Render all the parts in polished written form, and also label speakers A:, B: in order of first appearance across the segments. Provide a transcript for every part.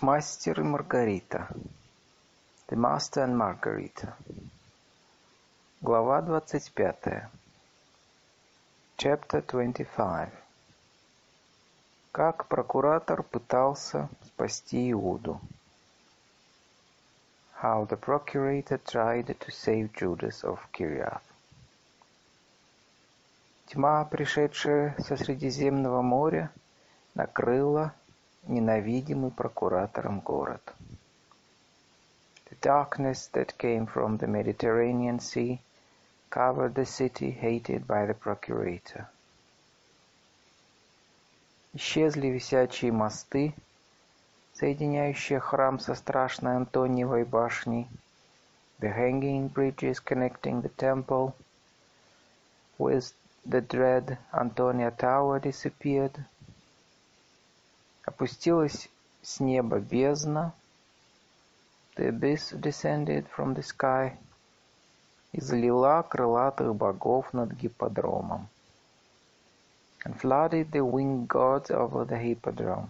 A: Мастер и Маргарита. The Master and Margarita. Глава 25. Chapter 25. Как прокуратор пытался спасти Иуду. How the procurator tried to save Judas of Kiriath. Тьма, пришедшая со Средиземного моря, накрыла ненавидимый прокуратором город. The darkness that came from the Mediterranean Sea covered the city hated by the procurator. Исчезли висячие мосты, соединяющие храм со страшной Антониевой башней, the hanging bridges connecting the temple with the dread Antonia Tower disappeared. Опустилась с неба бездна, the abyss descended from the sky, и залила крылатых богов над гипподромом, and flooded the winged gods over the hippodrome.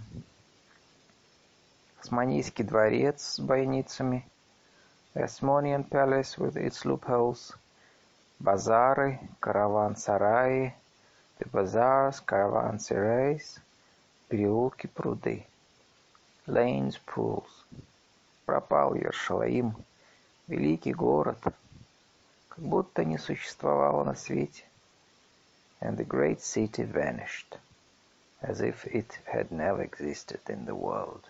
A: Османийский дворец с бойницами, the Osmanian palace with its loopholes, базары, караван-сараи, the bazaars, caravanserais, переулки, пруды, lanes, pools. Пропал Иерушалаим, великий город, как будто не существовало на свете, and the great city vanished, as if it had never existed in the world.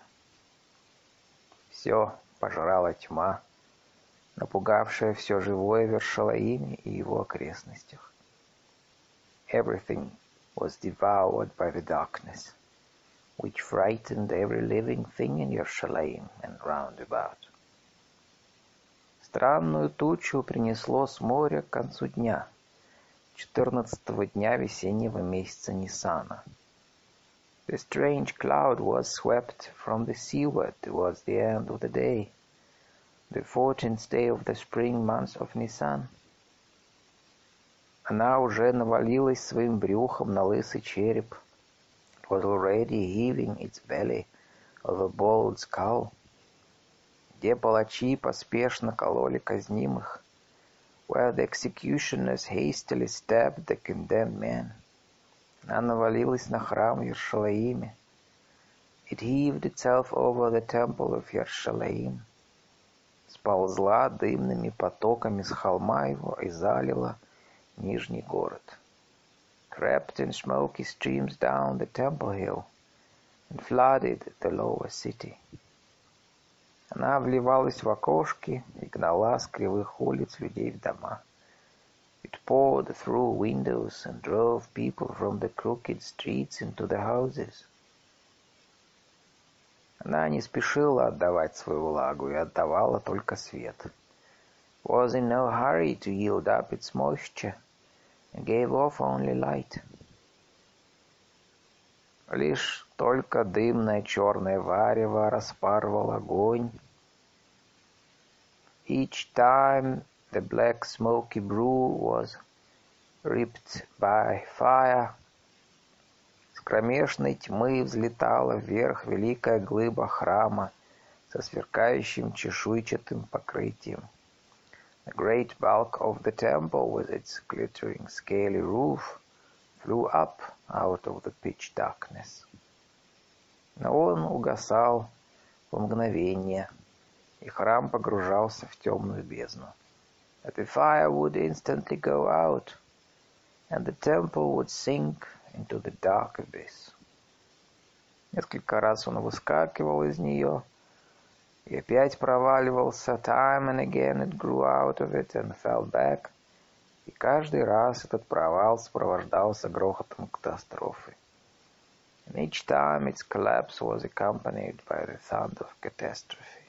A: Все пожрала тьма, напугавшая все живое в Иерушалаиме и его окрестностях. Everything was devoured by the darkness, which frightened every living thing in Yerushalayim and round about. Странную тучу принесло с моря к концу дня, 14-го дня весеннего месяца Нисана. The strange cloud was swept from the seaward towards the end of the day, the 14th day of the spring month of Nisan. Она уже навалилась своим брюхом на лысый череп, was already heaving its belly of a bald skull, где палачи поспешно кололи казнимых, where the executioners hastily stabbed the condemned men. Она навалилась на храм в Иерушалаиме. It heaved itself over the temple of Yerushalayim, сползла дымными потоками с холма его и залила нижний город. Crept in smoky streams down the temple hill and flooded the lower city. Она вливалась в окошки и гнала с кривых улиц людей в дома. It poured through windows and drove people from the crooked streets into the houses. Она не спешила отдавать свою влагу и отдавала только свет. Was in no hurry to yield up its moisture and gave off only light. Лишь только дымное черное варево распарывал огонь. Each time the black smoky brew was ripped by fire, с кромешной тьмы взлетала вверх великая глыба храма со сверкающим чешуйчатым покрытием. The great bulk of the temple with its glittering scaly roof flew up out of the pitch darkness. Но он угасал в мгновение, и храм погружался в темную бездну. But the fire would instantly go out, and the temple would sink into the dark abyss. Несколько раз он выскакивал из нее, и опять проваливался. Time and again it grew out of it and fell back. И каждый раз этот провал сопровождался грохотом катастрофы. And each time its collapse was accompanied by the sound of catastrophe.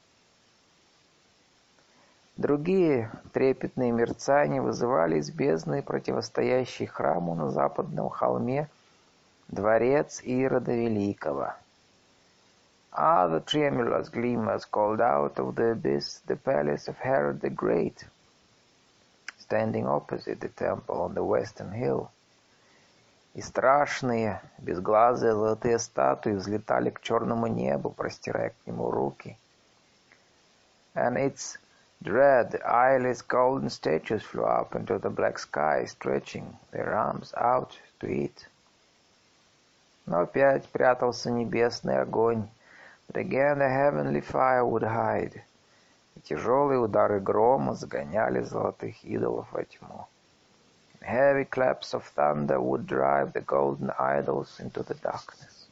A: Другие трепетные мерцания вызывали из бездны, противостоящий храму на западном холме, дворец Ирода Великого. Other tremulous gleamers called out of the abyss the palace of Herod the Great, standing opposite the temple on the western hill. И страшные, безглазые золотые статуи взлетали к черному небу, простирая к нему руки. And its dread, eyeless golden statues flew up into the black sky, stretching their arms out to it. Но опять прятался небесный огонь, but again the heavenly fire would hide. И тяжелые удары грома загоняли золотых идолов во тьму. And heavy claps of thunder would drive the golden idols into the darkness.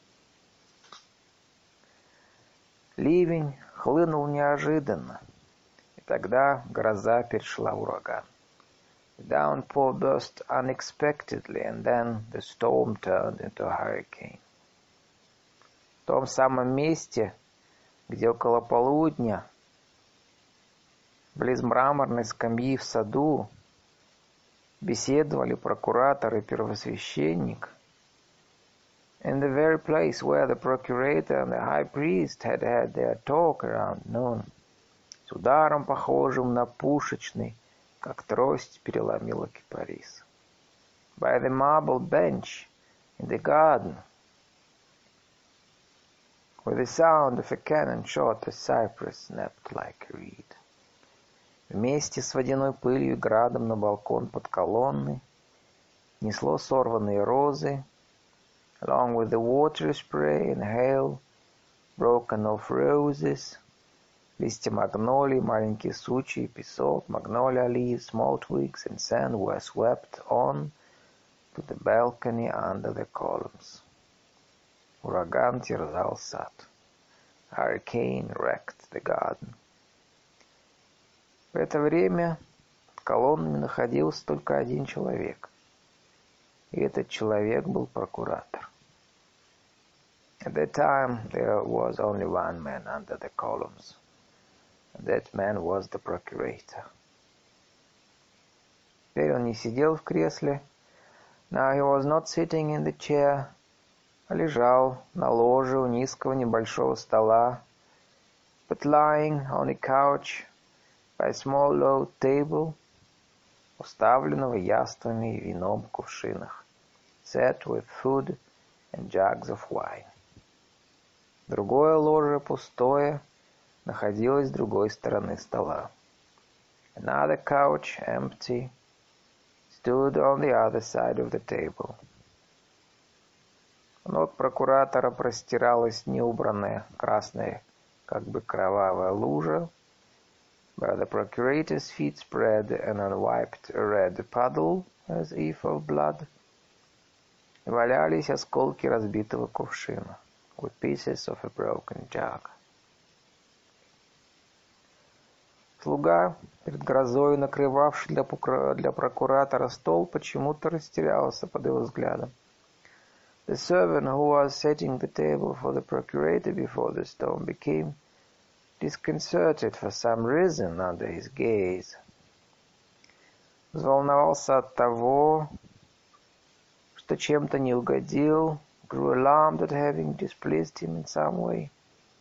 A: Ливень хлынул неожиданно, и тогда гроза перешла в ураган. The downpour burst unexpectedly, and then the storm turned into a hurricane. В том самом месте, где около полудня, близ мраморной скамьи в саду, беседовали прокуратор и первосвященник, in the very place where the procurator and the high priest had had their talk around noon, с ударом, похожим на пушечный, как трость переломила кипарис. By the marble bench in the garden, with the sound of a cannon shot, a cypress snapped like a reed. Вместе с водяной пылью и градом на балкон под колонной несло сорванные розы, along with the water spray and hail, broken off roses, листья магнолий, маленькие сучья и песок, magnolia leaves, small twigs and sand were swept on to the balcony under the columns. Ураган терзал сад. Hurricane wrecked the garden. В это время под колоннами находился только один человек. И этот человек был прокуратор. At that time there was only one man under the columns. And that man was the procurator. Теперь он не сидел в кресле. Now he was not sitting in the chair, а лежал на ложе у низкого небольшого стола, but lying on a couch by a small low table, уставленного яствами и вином в кувшинах, set with food and jugs of wine. Другое ложе, пустое, находилось с другой стороны стола. Another couch, empty, stood on the other side of the table. У ног прокуратора простиралась неубранная красная, как бы кровавая лужа, where the procurator's feet spread an unwiped red puddle, as if of blood. И валялись осколки разбитого кувшина, with pieces of a broken jug. Слуга, перед грозой накрывавший для прокуратора стол, почему-то растерялся под его взглядом. The servant who was setting the table for the procurator before the storm became disconcerted for some reason under his gaze. Взволновался от того, что чем-то не угодил, grew alarmed at having displeased him in some way.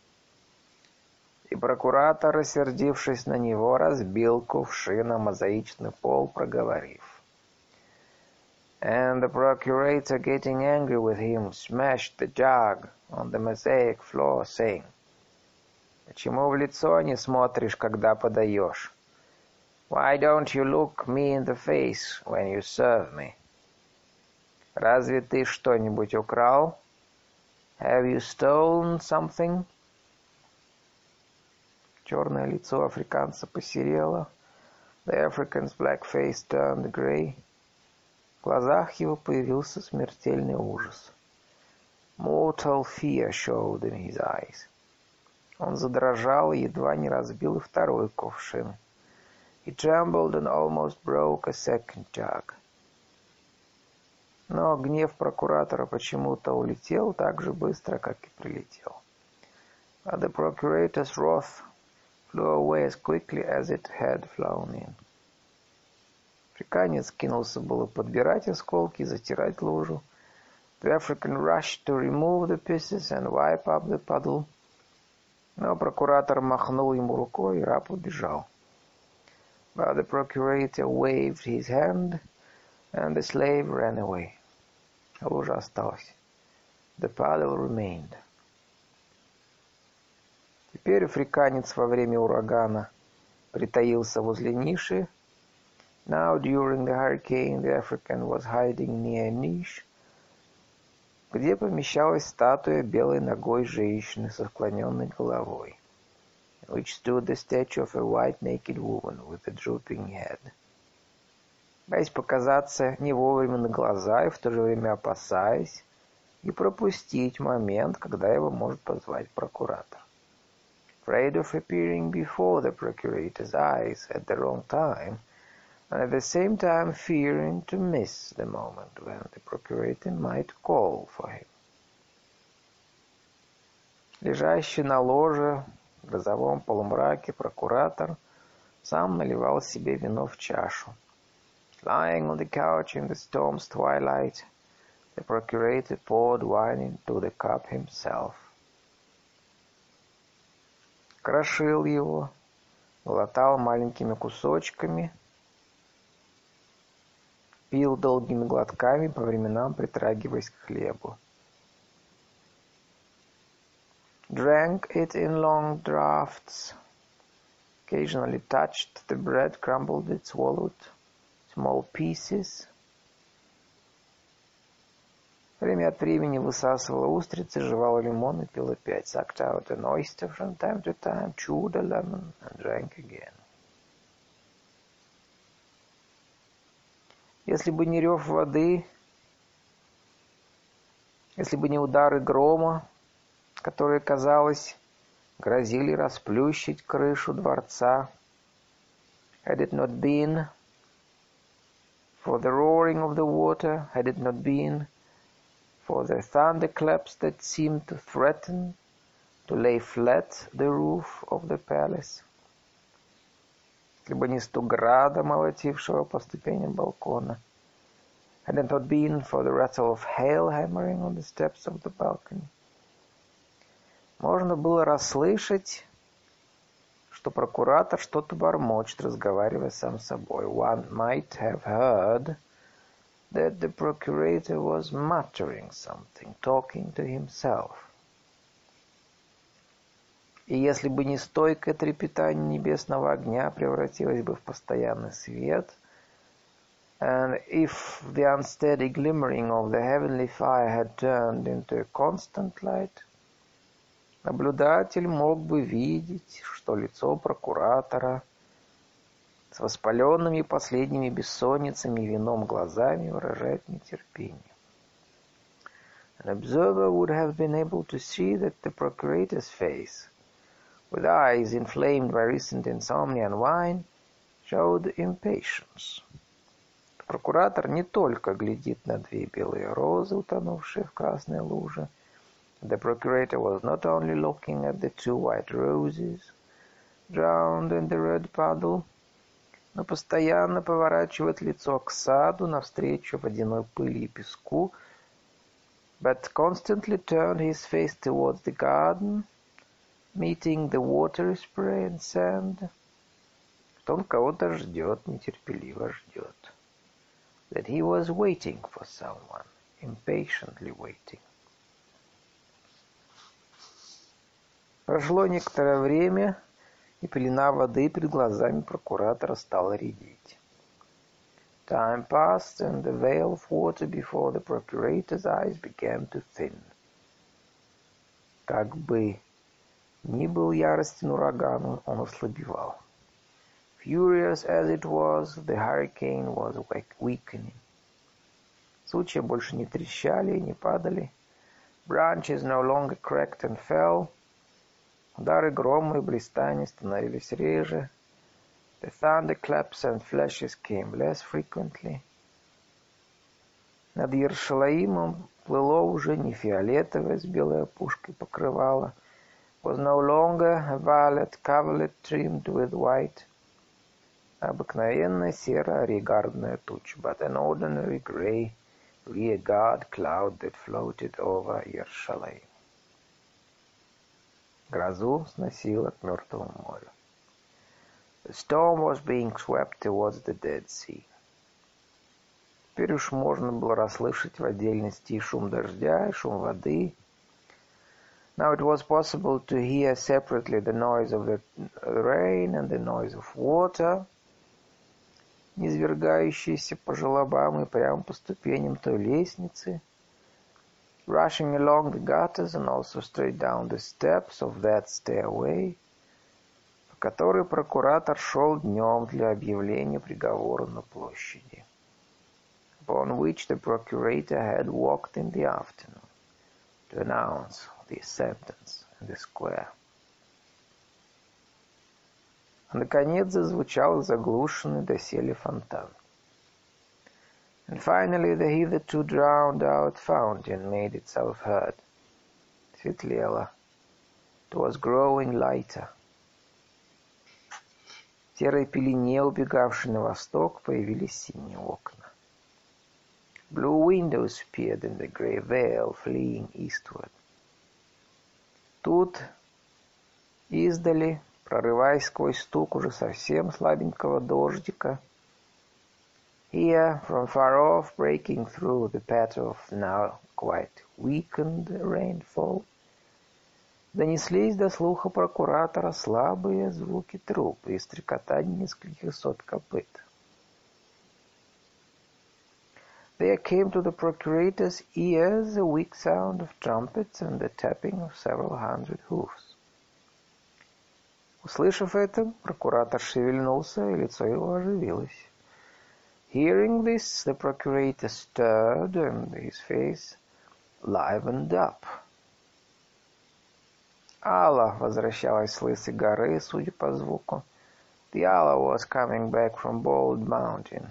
A: И прокуратор, рассердившись на него, разбил кувшин о мозаичный пол, проговорив. And the procurator, getting angry with him, smashed the jug on the mosaic floor, saying, «Почему в лицо не смотришь, когда подаешь? Why don't you look me in the face when you serve me? Разве ты что-нибудь украл? Have you stolen something?» Черное лицо африканца посерело. The African's black face turned gray. В глазах его появился смертельный ужас. Mortal fear showed in his eyes. Он задрожал и едва не разбил и второй кувшин. He trembled and almost broke a second jug. Но гнев прокуратора почему-то улетел так же быстро, как и прилетел. But the procurator's wrath flew away as quickly as it had flown in. Африканец кинулся было подбирать осколки, затирать лужу. The African rushed to remove the pieces and wipe up the puddle. Но прокуратор махнул ему рукой, и раб убежал. But the procurator waved his hand, and the slave ran away. Лужа осталась. The puddle remained. Теперь африканец во время урагана притаился возле ниши. Now during the hurricane the African was hiding near a niche, где помещалась статуя белой ногой женщины со склоненной головой, which stood the statue of a white naked woman with a drooping head. Боясь показаться не вовремя на глаза и в то же время опасаясь и пропустить момент, когда его может позвать прокуратор. Afraid of appearing before the procurator's eyes at the wrong time, and at the same time fearing to miss the moment when the procurator might call for him. Лежащий на ложе в грозовом полумраке прокуратор сам наливал себе вино в чашу. Lying on the couch in the storm's twilight, the procurator poured wine into the cup himself. Крошил его, глотал маленькими кусочками, пил долгими глотками, по временам притрагиваясь к хлебу. Drank it in long draughts, occasionally touched the bread, crumbled it, swallowed small pieces. Время от времени высасывала устрицы, жевала лимон и пил опять. Sucked out an oyster from time to time, chewed a lemon and drank again. Если бы не рев воды, если бы не удары грома, которые, казалось, грозили расплющить крышу дворца, had it not been for the roaring of the water, had it not been for the thunderclaps that seemed to threaten to lay flat the roof of the palace, если бы не стук града, молотившего по ступеням балкона, had it not been for the rattle of hail hammering on the steps of the balcony, можно было расслышать, что прокуратор что-то бормочет, разговаривая сам с собой. One might have heard that the procurator was muttering something, talking to himself. И если бы не стойкое трепетание небесного огня превратилось бы в постоянный свет, and if the unsteady glimmering of the heavenly fire had turned into a constant light, наблюдатель мог бы видеть, что лицо прокуратора с воспаленными последними бессонницами и вином глазами выражает нетерпение. An observer would have been able to see that the procurator's face, with eyes inflamed by recent insomnia and wine, showed impatience. Прокуратор не только глядит на две белые розы, утонувшие в красной луже. The procurator was not only looking at the two white roses, drowned in the red puddle, но постоянно поворачивает лицо к саду навстречу водяной пыли и песку, but constantly turned his face towards the garden, meeting the watery spray and sand. Что он кого-то ждет, нетерпеливо ждет. That he was waiting for someone, impatiently waiting. Прошло некоторое время, и пелена воды перед глазами прокуратора стала редеть. Time passed, and the veil of water before the procurator's eyes began to thin. Как бы ни был яростен ураган, он ослабевал. Furious as it was, the hurricane was weakening. Сучья больше не трещали и не падали. Branches no longer cracked and fell. Удары грома и блистания становились реже. The thunderclaps and flashes came less frequently. Над Иерушалаимом плыло уже не фиолетовое с белой опушкой покрывало. Was no longer a violet coverlet trimmed with white. Обыкновенная серая регардная туча, but an ordinary grey rearguard cloud that floated over Иерушалаим. Грозу сносило к Мертвому морю. The storm was being swept towards the Dead Sea. Теперь уж можно было расслышать в отдельности и шум дождя, и шум воды. Now it was possible to hear separately the noise of the rain and the noise of water, низвергающиеся по желобам и прямо по ступеням той лестницы, rushing along the gutters and also straight down the steps of that stairway, по которой прокуратор шел днем для объявления приговора на площади, upon which the procurator had walked in the afternoon to announce the sentence in the square. Наконец зазвучал заглушенный доселе фонтан. And finally the hitherto drowned-out fountain made itself heard. Светлело. It was growing lighter. В серой пелене, убегавшей на восток, появились синие окна. Blue windows appeared in the grey veil, fleeing eastward. Тут, издали, прорываясь сквозь стук уже совсем слабенького дождика, here, from far off, breaking through the patter of now quite weakened rainfall, донеслись до слуха прокуратора слабые звуки трубы и стрекотание нескольких сот копыт. There came to the procurator's ears a weak sound of trumpets and the tapping of several hundred hoofs. Услышав это, прокуратор шевельнулся, и лицо его оживилось. Hearing this, the procurator stirred, and his face livened up. Алла возвращалась с Лысой горы, судя по звуку. The Alla was coming back from Bald Mountain.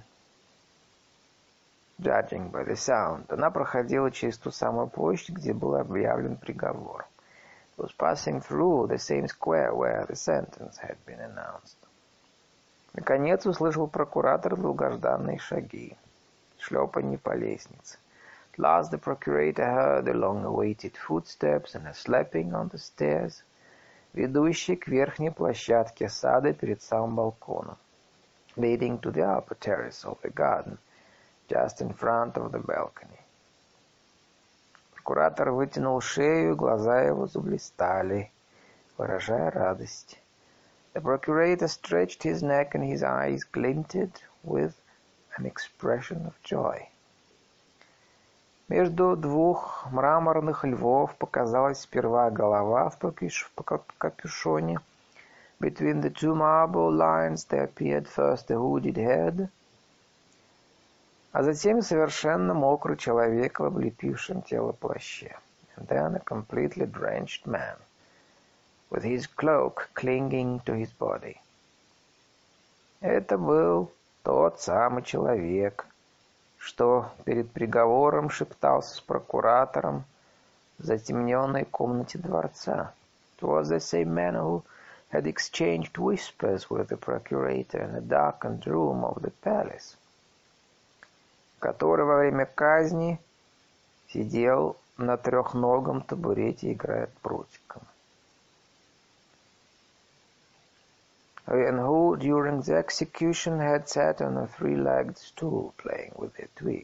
A: Judging by the sound, она проходила через ту самую площадь, где был объявлен приговор. It was passing through the same square where the sentence had been announced. Наконец услышал прокуратор долгожданные шаги, шлепанье по лестнице. At last the procurator heard the long-awaited footsteps and a slapping on the stairs, ведущие к верхней площадке сада перед самым балконом, leading to the upper terrace of the garden, just in front of the balcony. Прокуратор вытянул шею, глаза его заблистали, выражая радость. The procurator stretched his neck and his eyes glinted with an expression of joy. Между двух мраморных львов показалась сперва голова в капюшоне. Between the two marble lions there appeared first the hooded head, а затем совершенно мокрый человек в облепившем тело плаще. And then a completely drenched man, with his cloak clinging to his body. Это был тот самый человек, что перед приговором шептался с прокуратором в затемненной комнате дворца. It was the same man who had exchanged whispers with the procurator in the darkened room of the palace, который во время казни сидел на трехногом табурете, играя прутиком. And who, during the execution, had sat on a three-legged stool, playing with a twig.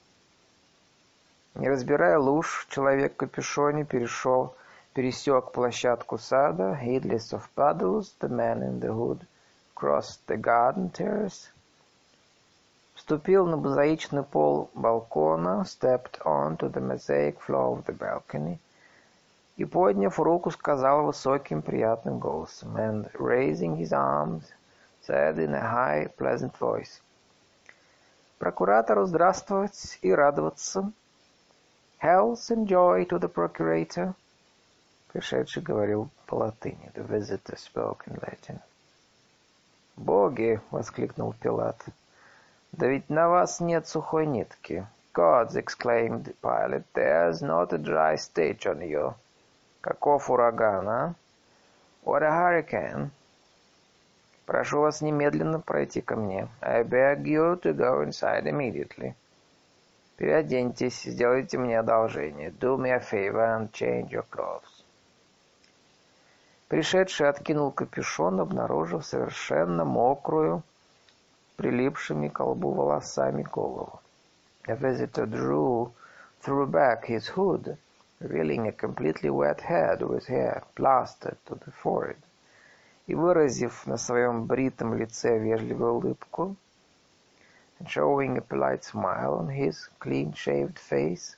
A: Не разбирая луж, человек в капюшоне пересек площадку сада, heedless of puddles, the man in the hood crossed the garden terrace, вступил на мозаичный пол балкона, stepped onto the mosaic floor of the balcony, и, подняв руку, сказал высоким приятным голосом, and, raising his arms, said in a high, pleasant voice, «Прокуратору здравствовать и радоваться! Health and joy to the procurator!» Пришедший говорил по-латыни. The visitor spoke in Latin. «Боги!» — воскликнул Пилат. «Да ведь на вас нет сухой нитки!» «Gods!» — exclaimed Pilate. «There's not a dry stitch on you!» «Каков ураган, а? What a hurricane!» «Прошу вас немедленно пройти ко мне. I beg you to go inside immediately. Переоденьтесь, сделайте мне одолжение. Do me a favor and change your clothes». Пришедший откинул капюшон, обнаружив совершенно мокрую, прилипшими к лбу волосами голову. The visitor threw back his hood, revealing a completely wet head with hair plastered to the forehead, и, выразив на своем бритом лице вежливую улыбку, and showing a polite smile on his clean-shaved face,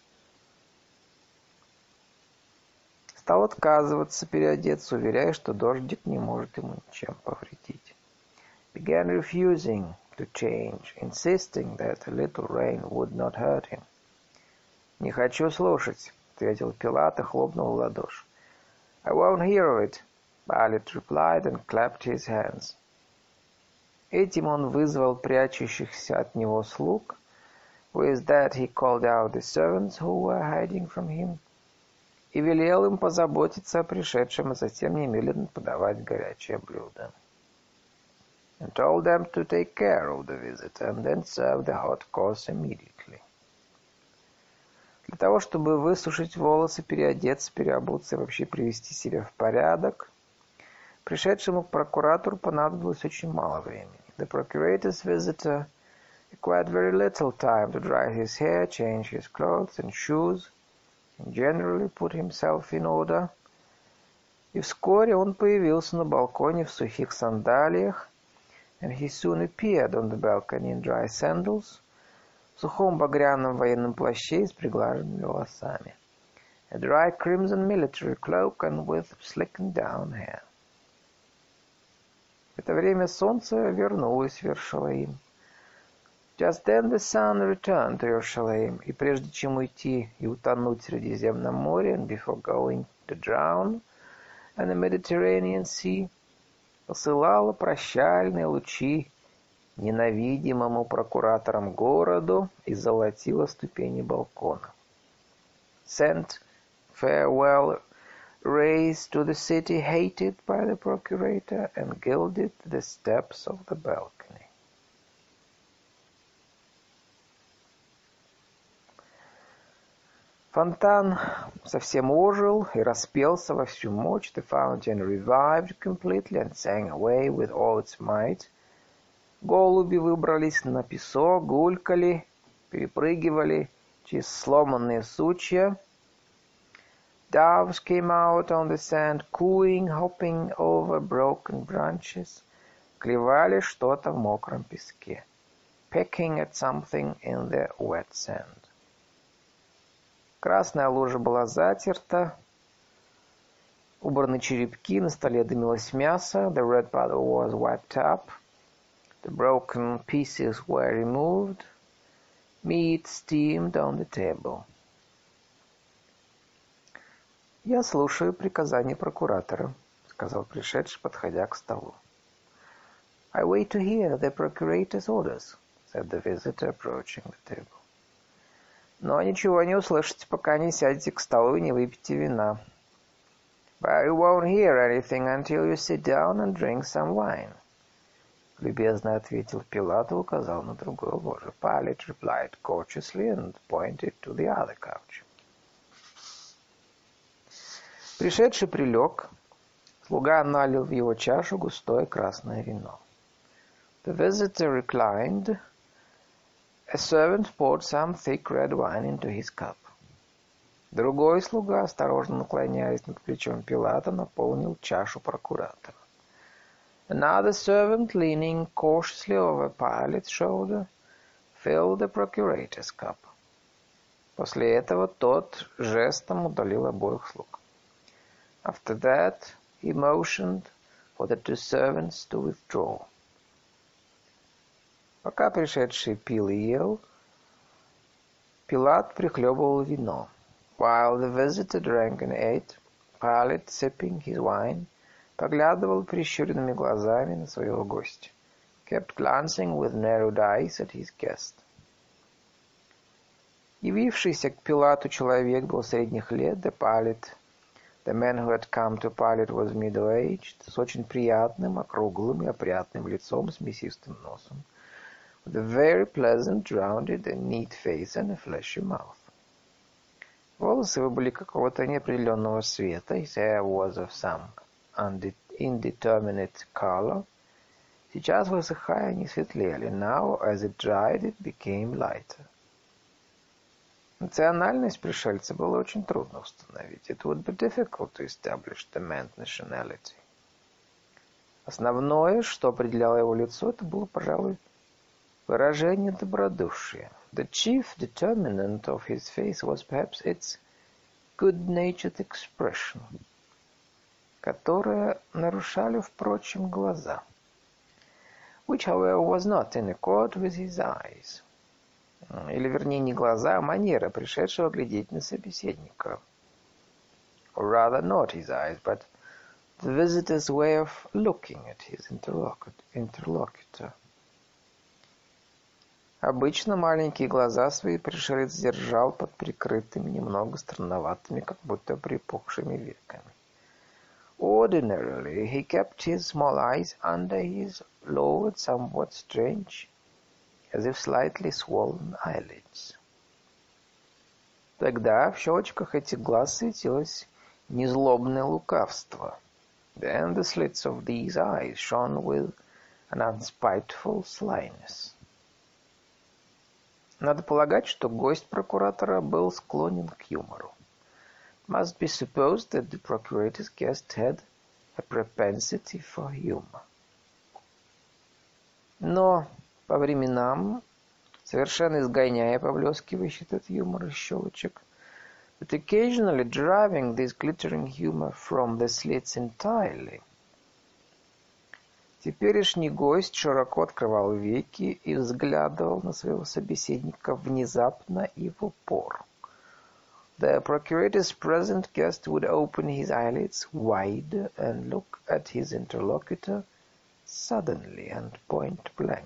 A: стал отказываться переодеться, уверяя, что дождик не может ему ничем повредить. Began refusing to change, insisting that a little rain would not hurt him. «Не хочу слушать», — ответил Пилат и хлопнул в ладоши. «I won't hear of it», Pilate replied and clapped his hands. Этим он вызвал прячущихся от него слуг. With that he called out the servants who were hiding from him, и велел им позаботиться о пришедшем, и затем немедленно подавать горячее блюдо. And told them to take care of the visitor and then serve the hot course immediately. Для того, чтобы высушить волосы, переодеться, переобуться и вообще привести себя в порядок, пришедшему к прокуратору понадобилось очень мало времени. The procurator's visitor required very little time to dry his hair, change his clothes and shoes, and generally put himself in order. И вскоре он появился на балконе в сухих сандалиях, and he soon appeared on the balcony in dry sandals, в сухом багряном военном плаще и с приглаженными волосами, a dry crimson military cloak and with slickened down hair. В это время солнце вернулось в Иерушалаим. Just then the sun returned to Jerusalem, и прежде чем уйти и утонуть в Средиземном море, and before going to drown in the Mediterranean Sea, посылала прощальные лучи ненавидимому прокуратором городу и золотила ступени балкона. Sent farewell rays to the city hated by the procurator and gilded the steps of the balcony. Фонтан совсем ожил и распелся во всю мощь. The fountain revived completely and sang away with all its might. Голуби выбрались на песок, гулькали, перепрыгивали через сломанные сучья. Doves came out on the sand, cooing, hopping over broken branches, клевали что-то в мокром песке, pecking at something in the wet sand. Красная лужа была затерта, убраны черепки, на столе дымилось мясо. The red puddle was wiped up. The broken pieces were removed. Meat steamed on the table. «Я слушаю приказания прокуратора», — сказал пришедший, подходя к столу. «I wait to hear the procurator's orders», — said the visitor, approaching the table. «Но ничего не услышите, пока не сядете к столу и не выпьете вина». «But you won't hear anything until you sit down and drink some wine», — любезно ответил Пилат и указал на другое ложе. Pilate replied courteously and pointed to the other couch. Пришедший прилег, слуга налил в его чашу густое красное вино. The visitor reclined. A servant poured some thick red wine into his cup. Другой слуга, осторожно наклоняясь над плечом Пилата, наполнил чашу прокуратора. Another servant, leaning cautiously over Pilate's shoulder, filled the procurator's cup. После этого тот жестом удалил обоих слуг. After that, he motioned for the two servants to withdraw. Пока пришедший пил и ел, Пилат прихлебывал вино. While the visitor drank and ate, Pilate, sipping his wine, поглядывал прищуренными глазами на своего гостя. Kept glancing with narrowed eyes at his guest. Явившийся к Пилату человек был средних лет, The man who had come to Pilate was middle-aged, с очень приятным, округлым и опрятным лицом, с мясистым носом, with a very pleasant, rounded and neat face and a fleshy mouth. Волосы его были какого-то неопределенного цвета, his hair was of some indeterminate color. Сейчас, высыхая, они светлели. Now, as it dried, it became lighter. Национальность пришельца было очень трудно установить. It would be difficult to establish the man's nationality. Основное, что определяло его лицо, это было, пожалуй, выражение добродушия. The chief determinant of his face was perhaps its good-natured expression, которое нарушали, впрочем, глаза, which, however, was not in accord with his eyes. Или, вернее, не глаза, а манера пришедшего глядеть на собеседника. Or rather, not his eyes, but the visitor's way of looking at his interlocutor. Обычно маленькие глаза свои пришелец держал под прикрытыми, немного странноватыми, как будто припухшими веками. Ordinarily, he kept his small eyes under his lowered, somewhat strange, as if slightly swollen eyelids. Тогда в щелочках этих глаз светилось незлобное лукавство. Then the slits of these eyes shone with an unspiteful slyness. Надо полагать, что гость прокуратора был склонен к юмору. It must be supposed that the procurator's guest had a propensity for humor. Но по временам, совершенно изгоняя поблескивающий этот юмор из щелочек, but occasionally driving this glittering humor from the slits entirely, теперешний гость широко открывал веки и взглядывал на своего собеседника внезапно и в упор. The procurator's present guest would open his eyelids wide and look at his interlocutor suddenly and point blank.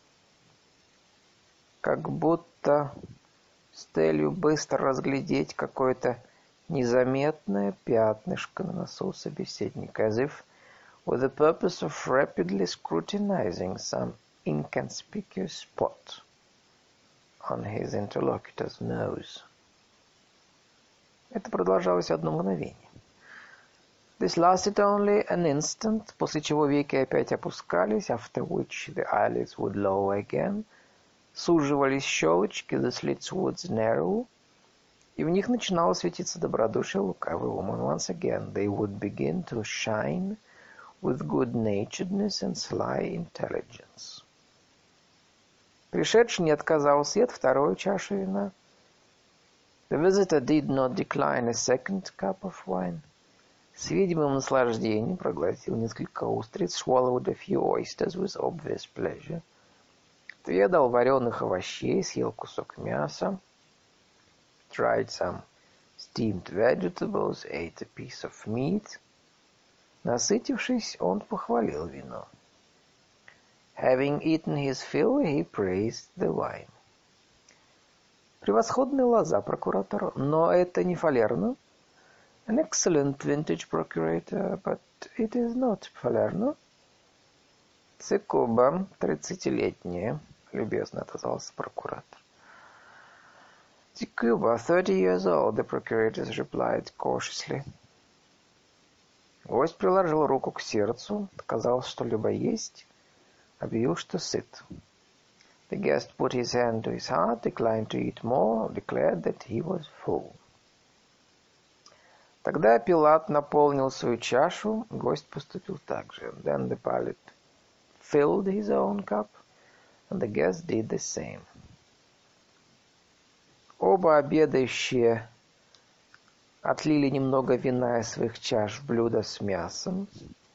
A: Как будто с целью быстро разглядеть какое-то незаметное пятнышко на носу собеседника, as if with the purpose of rapidly scrutinizing some inconspicuous spot on his interlocutor's nose. Это продолжалось одно мгновение. This lasted only an instant, после чего веки опять опускались, after which the eyelids would lower again, суживались щелочки, the slits would narrow, и в них начинало светиться добродушие лукавый ум, and once again they would begin to shine with good-naturedness and sly intelligence. Пришедший не отказался от второй чаши вина. The visitor did not decline a second cup of wine. С видимым наслаждением проглотил несколько устриц, swallowed a few oysters with obvious pleasure. Отведал вареных овощей, съел кусок мяса. Tried some steamed vegetables, ate a piece of meat. Насытившись, он похвалил вино. Having eaten his fill, he praised the wine. Превосходная лоза, прокуратор, но это не фалерно. An excellent vintage, procurator, but it is not Falerno. Цикуба, 30-летняя, любезно отозвался прокуратор. Цикуба, 30 years old, the procurator replied cautiously. Гость приложил руку к сердцу, отказался что-либо есть, объявил, что сыт. The guest put his hand to his heart, declined to eat more, declared that he was full. Тогда Пилат наполнил свою чашу, гость поступил так же. Then the Pilate filled his own cup, and the guest did the same. Оба обедающие отлили немного вина из своих чаш в блюдо с мясом.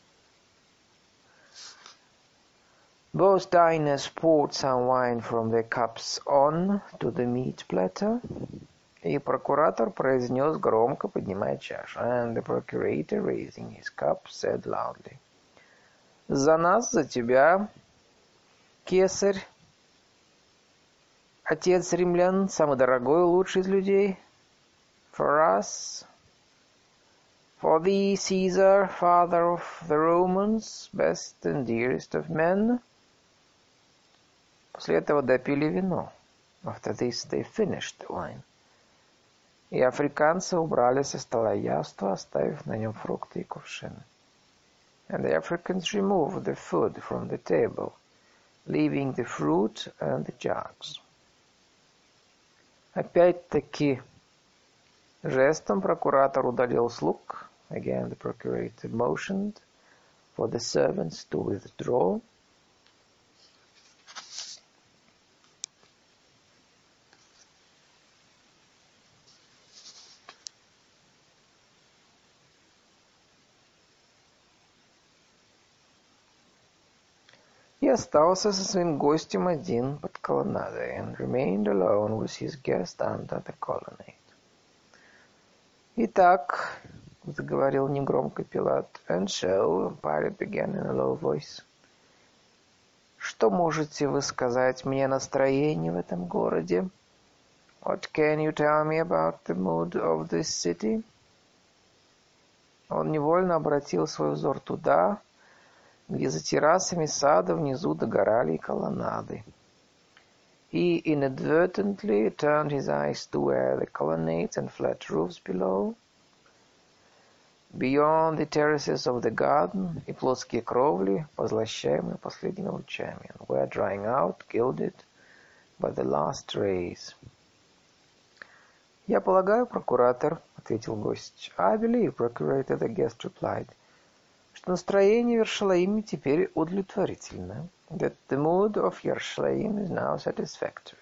A: Both diners poured some wine from their cups on to the meat platter. И прокуратор произнес громко, поднимая чашу. And the procurator, raising his cup, said loudly. За нас, за тебя, кесарь, отец римлян, самый дорогой и лучший из людей. For us, for thee, Caesar, father of the Romans, best and dearest of men. После этого допили вино. After this they finished the wine. И африканцы убрали со стола яство, оставив на нем фрукты и кувшины. And the Africans removed the food from the table, leaving the fruit and the jugs. Опять-таки жестом прокуратор удалил слуг. Again the procurator motioned for the servants to withdraw. И остался со своим гостем один под колоннадой, and remained alone with his guest under the colonnade. «Итак», — заговорил негромко Пилат, «and so», Pilate began in a low voice, «что можете вы сказать мне о настроении в этом городе? What can you tell me about the mood of this city?» Он невольно обратил свой взор туда, где за террасами сада внизу догорали колоннады. He inadvertently turned his eyes to where the colonnades and flat roofs below, beyond the terraces of the garden, и плоские кровли, позлощаемые последними лучами, and were drying out, gilded by the last rays. «Я полагаю, прокуратор, — ответил гость, — I believe, procurator, the guest replied, что настроение в Иерусалиме теперь удовлетворительно, that the mood of Yerushalayim is now satisfactory.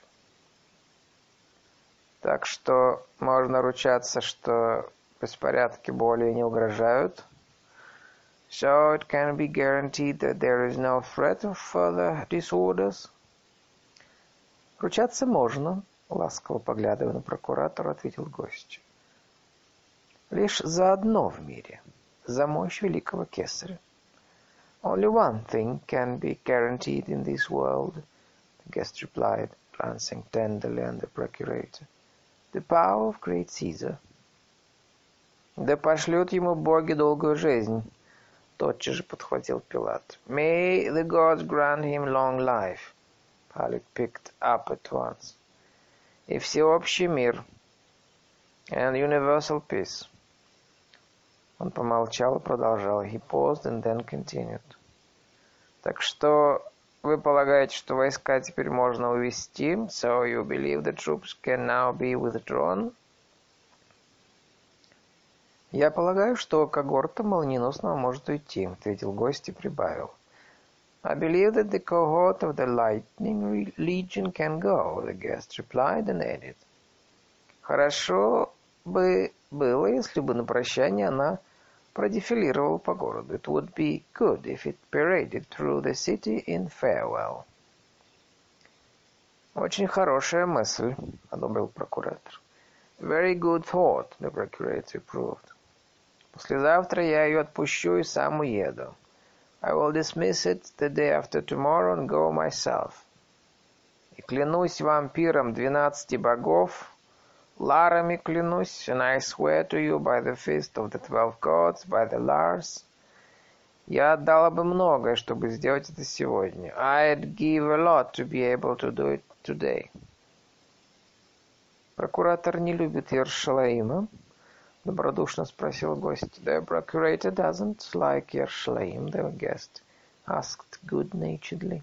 A: Так что можно ручаться, что беспорядки более не угрожают. So it can be guaranteed that there is no threat of further disorders. Ручаться можно, ласково поглядывая на прокуратора, ответил гость. Лишь за одно в мире. За мощь великого кесаря. Only one thing can be guaranteed in this world, the guest replied, glancing tenderly on the procurator. The power of great Caesar. Да пошлют ему боги долгую жизнь, тотчас же подхватил Пилат. May the gods grant him long life, Pilate picked up at once. И всеобщий мир, and universal peace. Он помолчал и продолжал. He paused and then continued. Так что вы полагаете, что войска теперь можно увести? So you believe the troops can now be withdrawn? Я полагаю, что когорта молниеносно может уйти, ответил гость и прибавил. I believe that the cohort of the lightning legion can go, the guest replied and added. Хорошо бы было, если бы на прощание она продефилировала по городу. It would be good if it paraded through the city in farewell. Очень хорошая мысль, одобрил прокуратор. Very good thought, the procurator approved. Послезавтра я ее отпущу и сам уеду. I will dismiss it the day after tomorrow and go myself. И клянусь вампиром 12 богов, Ларами клянусь, and I swear to you by the feast of the 12 gods, by the Lars. Я отдала бы многое, чтобы сделать это сегодня. I'd give a lot to be able to do it today. Прокуратор не любит Иерусалима? Добродушно спросил гость. The procurator doesn't like Yerushalayim, the guest asked good-naturedly.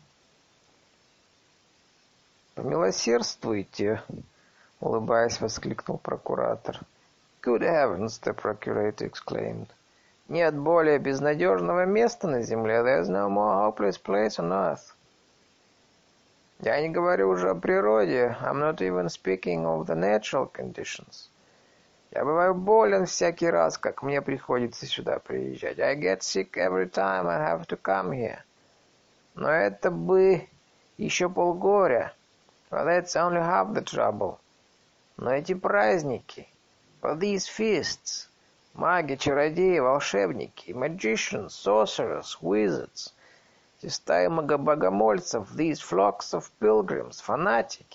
A: Помилосердствуйте, улыбаясь, воскликнул прокуратор. Good heavens, the procurator exclaimed. Нет более безнадежного места на земле. There's no more hopeless place on earth. Я не говорю уже о природе. I'm not even speaking of the natural conditions. Я бываю болен всякий раз, как мне приходится сюда приезжать. I get sick every time I have to come here. Но это бы еще полгоря. But that's only half the trouble. Но эти праздники, for these feasts, маги, чародеи, волшебники, magicians, sorcerers, wizards, эти стаи богомольцев, these flocks of pilgrims, фанатики,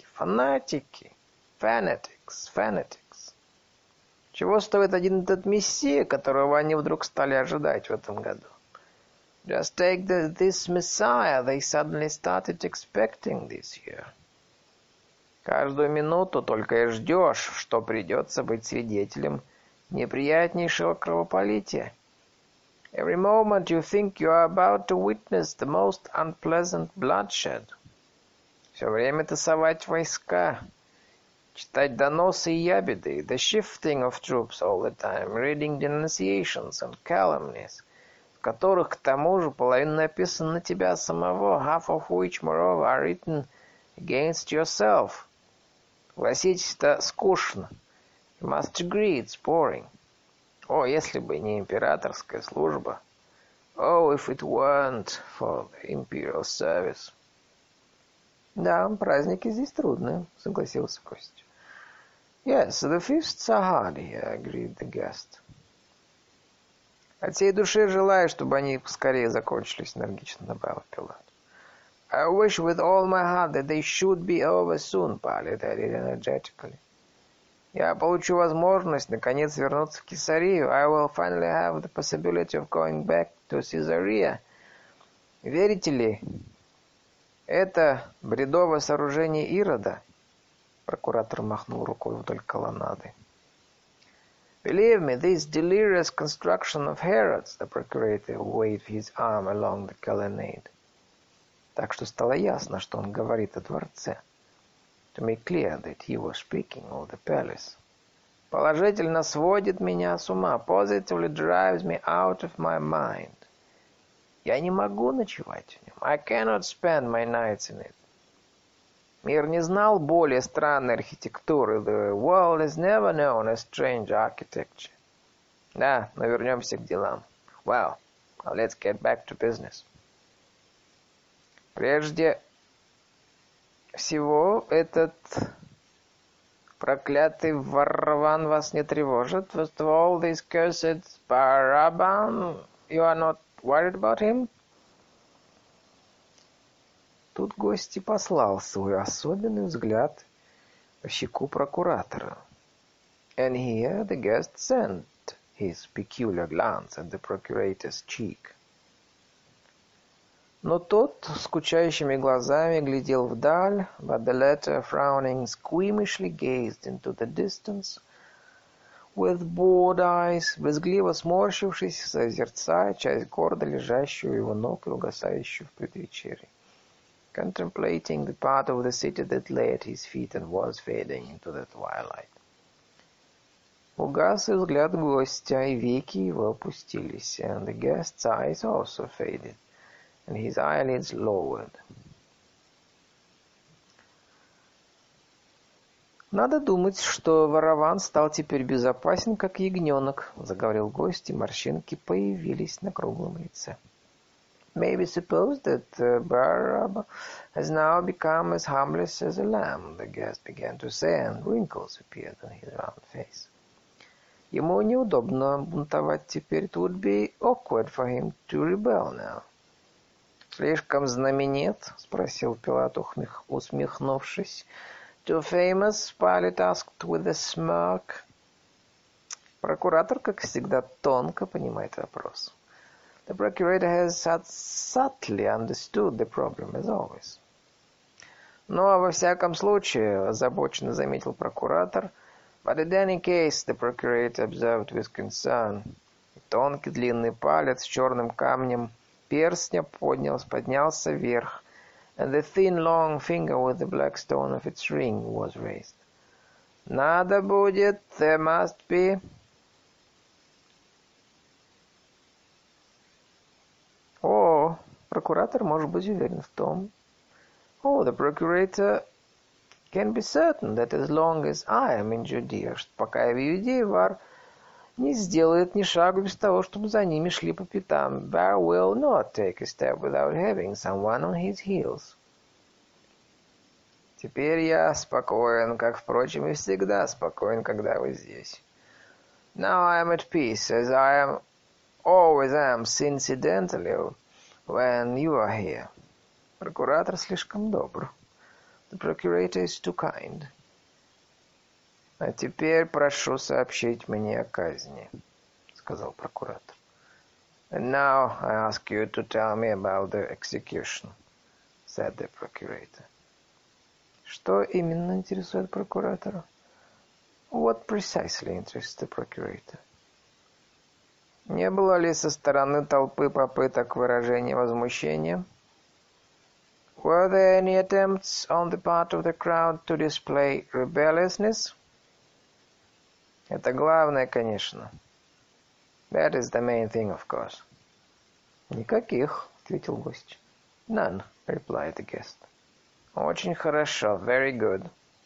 A: fanatics. Чего стоит один этот мессия, которого они вдруг стали ожидать в этом году? Just take this Messiah they suddenly started expecting this year. Каждую минуту только и ждешь, что придется быть свидетелем неприятнейшего кровопролития. Every moment you think you are about to witness the most unpleasant bloodshed. Все время тасовать войска. Читать доносы и ябеды, the shifting of troops all the time, reading denunciations and calumnies, в которых, к тому же, половина написана на тебя самого, half of which, moreover, are written against yourself. Согласитесь, это скучно. You must agree, it's boring. О, если бы не императорская служба. Oh, if it weren't for the imperial service. Да, праздники здесь трудные, согласился Костя. Yes, the feasts are hard here, agreed the guest. От всей души желаю, чтобы они поскорее закончились, энергично добавил Пилат. I wish with all my heart that they should be over soon, Pilate added energetically. Я получу возможность, наконец, вернуться в Кесарию. I will finally have the possibility of going back to Caesarea. Верите ли, это бредовое сооружение Ирода? Прокуратор махнул рукой вдоль колоннады. Believe me, this delirious construction of Herod's, the procurator waved his arm along the colonnade. Так что стало ясно, что он говорит о дворце. To make clear that he was speaking of the palace. Положительно сводит меня с ума. Positively drives me out of my mind. Я не могу ночевать в нем. I cannot spend my nights in it. Мир не знал более странной архитектуры. The world has never known a strange architecture. Да, но вернемся к делам. Well, now let's get back to business. Прежде всего, этот проклятый Вараван вас не тревожит? First of all, this cursed Baraban, you are not worried about him? Тут гость и послал свой особенный взгляд по щеку прокуратора. And here the guest sent his peculiar glance at the procurator's cheek. Но тот скучающими глазами глядел вдаль, but the latter, frowning, squeamishly gazed into the distance, with bored eyes, брезгливо сморщившись, созерцая часть города, лежащую у его ног и угасающую в предвечерии, contemplating the part of the city that lay at his feet and was fading into the twilight. Угас и взгляд гостя, и веки его опустились, and the guest's eyes also faded, and his eyelids lowered. «Надо думать, что Вараван стал теперь безопасен, как ягненок», — заговорил гость, и морщинки появились на круглом лице. May be supposed that Barab has now become as harmless as a lamb, the guest began to say, and wrinkles appeared on his round face. Ему неудобно бунтовать теперь. It would be awkward for him to rebel now. «Слишком знаменит?» — спросил Пилат, усмехнувшись. «Too famous?» — Pilate asked with a smirk. Прокуратор, как всегда, тонко понимает вопрос. The procurator has subtly understood the problem, as always. Но, во всяком случае, озабоченно заметил прокуратор, but in any case, the procurator observed with concern, тонкий длинный палец с черным камнем перстня поднялся вверх, and the thin long finger with the black stone of its ring was raised. Надо будет, there must be. О, прокуратор может быть уверен в том. Oh, the procurator can be certain that as long as I am in Judea, что пока я в Иудее, Вар не сделает ни шагу без того, чтобы за ними шли по пятам. Bar will not take a step without having someone on his heels. Теперь я спокоен, как, впрочем, и всегда спокоен, когда вы здесь. Now I am at peace, as I am always am, incidentally, when you are here. Прокуратор слишком добр. The procurator is too kind. А теперь прошу сообщить мне о казни, сказал прокуратор. And now I ask you to tell me about the execution, said the procurator. Что именно интересует прокуратора? What precisely interests the procurator? Не было ли со стороны толпы попыток выражения возмущения? Were there any attempts on the part of the crowd to display rebelliousness? Это главное, конечно. That is the main thing, of course. Никаких, ответил гость. None, replied the guest. Очень хорошо, very good.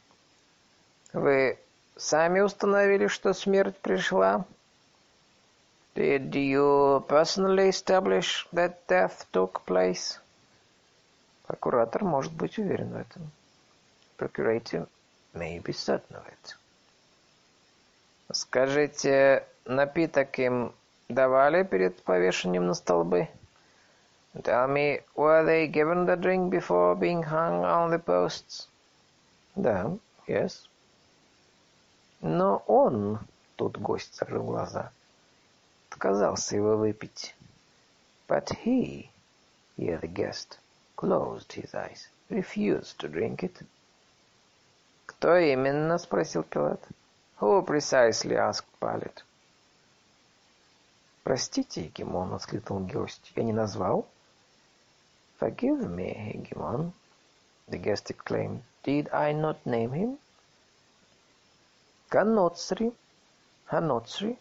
A: Вы сами установили, что смерть пришла? Did you personally establish that death took place? Прокуратор может быть уверен в этом. Procurator may be certain of it. Скажите, напиток им давали перед повешением на столбы? Tell me, were they given the drink before being hung on the posts? Да, yes. Но он, тут гость закрыл глаза, отказался его выпить. But he, here the guest, closed his eyes, refused to drink it. Кто именно? Спросил Пилат. Who precisely? Asked Pilate. Простите, Гегемон, воскликнул гость. Я не назвал? Forgive me, Hegemon, the guest exclaimed. Did I not name him? Каноцри. Ханоцри.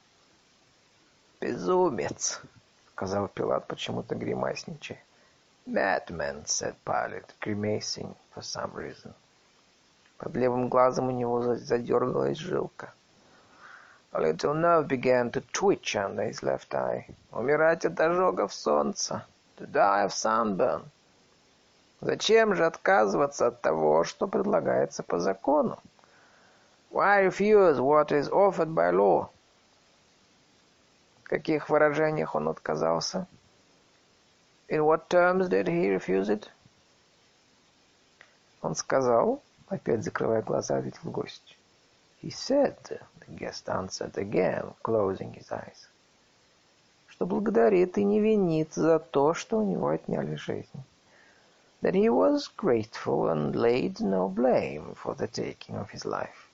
A: Безумец, сказал Пилат, почему-то гримасничая. Madman, said Pilate, grimacing for some reason. Под левым глазом у него задергалась жилка. A little nerve began to twitch under his left eye. Умирать от ожогов солнца. To die of sunburn. Зачем же отказываться от того, что предлагается по закону? Why refuse what is offered by law? В каких выражениях он отказался? In what terms did he refuse it? Он сказал, опять закрывая глаза, ответил гость. He said, the guest answered again, closing his eyes, что благодарит и не винит за то, что у него отняли жизнь. That he was grateful and laid no blame for the taking of his life.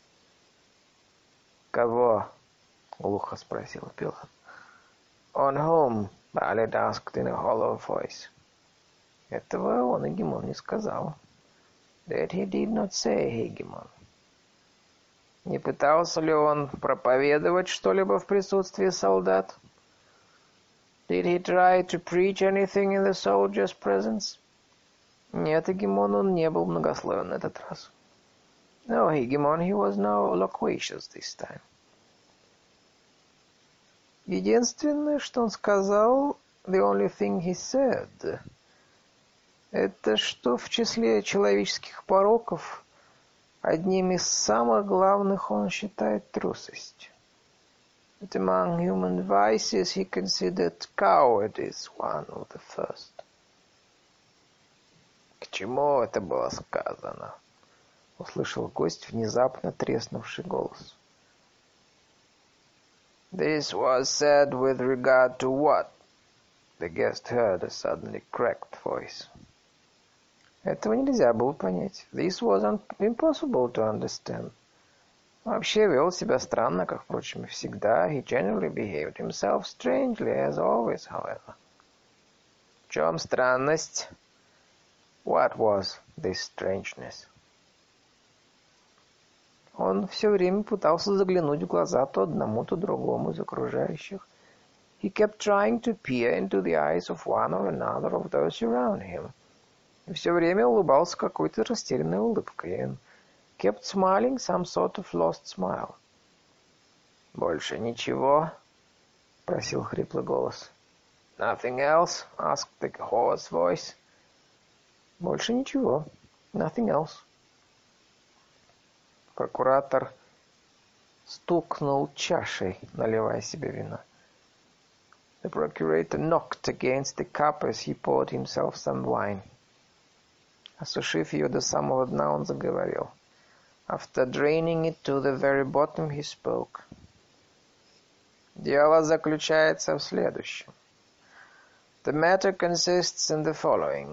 A: Кого? Глухо спросил Пилат. On whom? Pilate asked in a hollow voice. Этого он Hegemon не сказал. That he did not say, Hegemon. Не пытался ли он проповедовать что-либо в присутствии солдат? Did he try to preach anything in the soldiers' presence? Нет, Hegemon, он не был многословен на этот раз. No, Hegemon, he was not loquacious this time. Единственное, что он сказал, the only thing he said, это что в числе человеческих пороков одним из самых главных он считает трусость. That among human vices he considered cowardice one of the first. К чему это было сказано? Услышал гость внезапно треснувший голос. This was said with regard to what? The guest heard a suddenly cracked voice. Этого нельзя было понять. This was impossible to understand. Вообще вел себя странно, как, впрочем, и всегда. He generally behaved himself strangely, as always, however. В чем странность? What was this strangeness? Он все время пытался заглянуть в глаза то одному, то другому из окружающих. He kept trying to peer into the eyes of one or another of those around him. И все время улыбался какой-то растерянной улыбкой. And kept smiling some sort of lost smile. «Больше ничего?» — просил хриплый голос. «Nothing else?» — asked the hoarse voice. «Больше ничего. Nothing else». Прокуратор стукнул чашей, наливая себе вина. The procurator knocked against the cup as he poured himself some wine. Осушив ее до самого дна, он заговорил. After draining it to the very bottom, he spoke. Дело заключается в следующем. The matter consists in the following.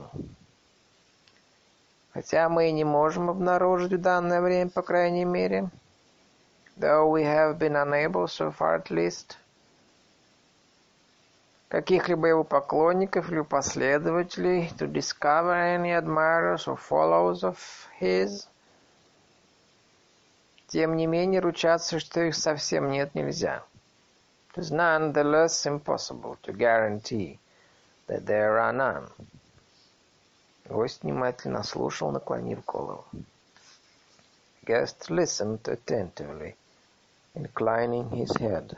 A: Хотя мы и не можем обнаружить в данное время, по крайней мере, though we have been unable, so far at least, каких-либо его поклонников или последователей, to discover any admirers or followers of his. Тем не менее, ручаться, что их совсем нет, нельзя. It is none the less impossible to guarantee that there are none. Гость внимательно слушал, наклонив голову. Guest listened attentively, inclining his head.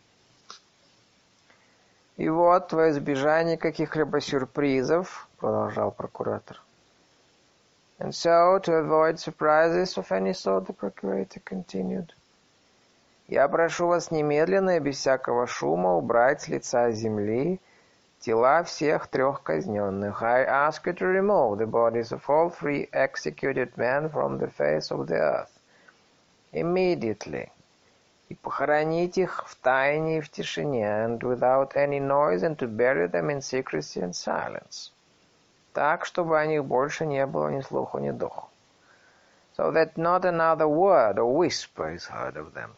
A: И вот, во избежание каких-либо сюрпризов, продолжал прокуратор. And so, to avoid surprises of any sort, the procurator continued. Я прошу вас немедленно и без всякого шума убрать с лица земли тела всех трех казненных. I ask you to remove the bodies of all three executed men from the face of the earth. Immediately. И похоронить их в тайне и в тишине, and without any noise, and to bury them in secrecy and silence. Так, чтобы о них больше не было ни слуху, ни духу. So that not another word or whisper is heard of them.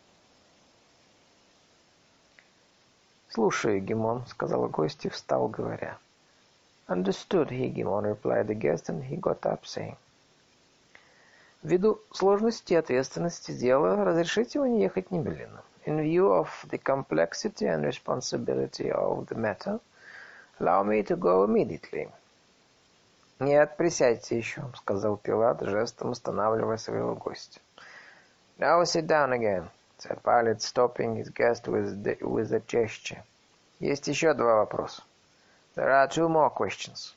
A: «Слушай, Гимон», — сказал гость и встал, говоря. «Understood, Гимон», — replied the guest, and he got up, saying. «Ввиду сложности и ответственности дела, разрешите мне ехать немедленно. In view of the complexity and responsibility of the matter, allow me to go immediately». «Нет, присядьте еще», — сказал Пилат, жестом останавливая своего гостя. «Now sit down again», — said Pilate, stopping his guest with a gesture. «Есть еще два вопроса. There are two more questions».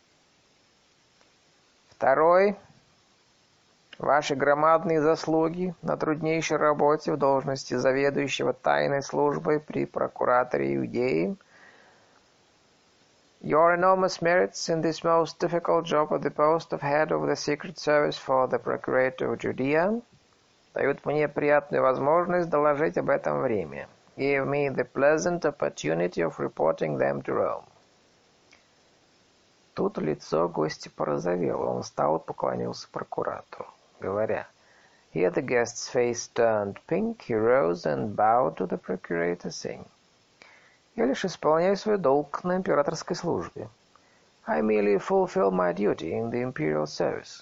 A: Второй. Ваши громадные заслуги на труднейшей работе в должности заведующего тайной службой при прокураторе Иудеи. Your enormous merits in this most difficult job at the post of head of the Secret Service for the Procurator of Judea дают мне приятную возможность доложить об этом в Риме. Give me the pleasant opportunity of reporting them to Rome. Тут лицо гостя порозовело. Он встал и поклонился прокуратору, говоря. Here the guest's face turned pink. He rose and bowed to the procurator, saying. Я лишь исполняю свой долг на императорской службе. I merely fulfill my duty in the imperial service.